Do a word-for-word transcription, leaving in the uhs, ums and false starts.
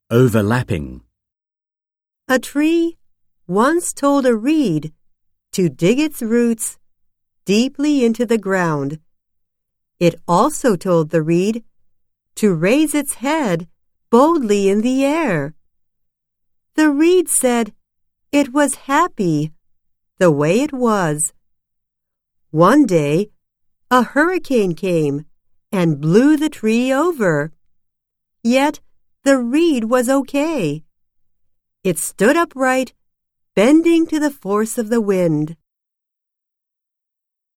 Overlapping. A tree once told a reed to dig its roots deeply into the ground. It also told the reed to raise its head boldly in the air. The reed said it was happy the way it was. One day, a hurricane came and blew the tree over. Yet the reed was okay. It stood upright, bending to the force of the wind.